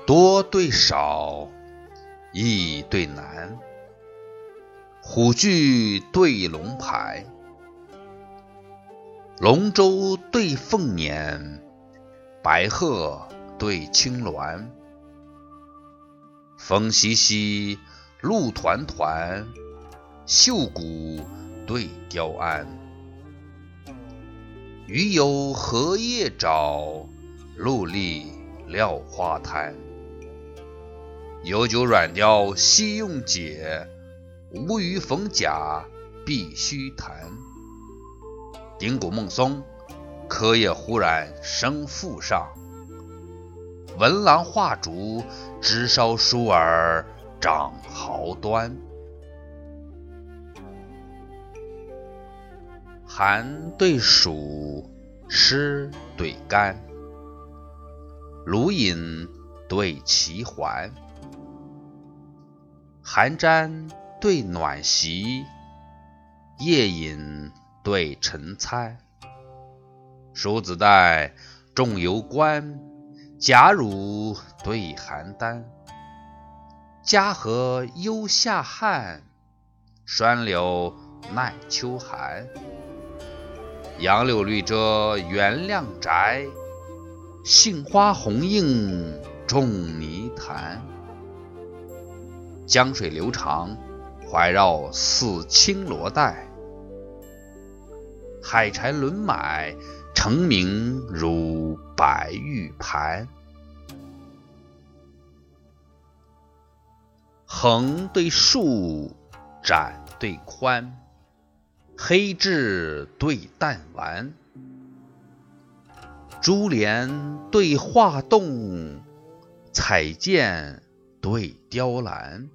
多对少，易对难。虎踞对龙排，龙舟对凤辇，白鹤对青鸾。风习习，露团团，秀骨对雕鞍。鱼游荷叶沼，陆离廖花滩。有酒软雕悉用解，无鱼逢甲必须弹。顶骨梦松，柯叶忽然生腹上。文郎画竹，枝梢疏而长毫端。寒对暑，湿对干，卢隐对齐桓。寒毡对暖席，夜饮对晨餐。蜀子带，仲由关，贾汝对邯郸。嘉禾忧夏旱，栓柳耐秋寒。杨柳绿遮原亮宅，杏花红映众泥潭。江水流长，怀绕似青罗带。海柴轮买，成名如白玉盘。横对竖，窄对宽，黑痣对淡丸。珠帘对画栋，彩笺对雕栏。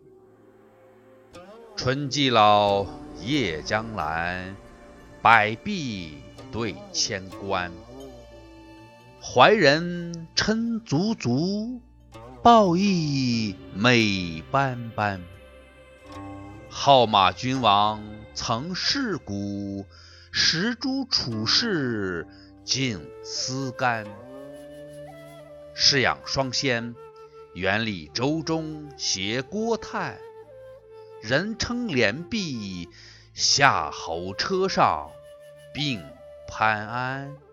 春既老，夜将阑，百壁对千关。怀人称足足，抱缢美斑斑。号马君王曾世古，石珠处士尽思干。侍养双仙，园里舟中携郭叹。人称连璧，夏侯车上并潘安。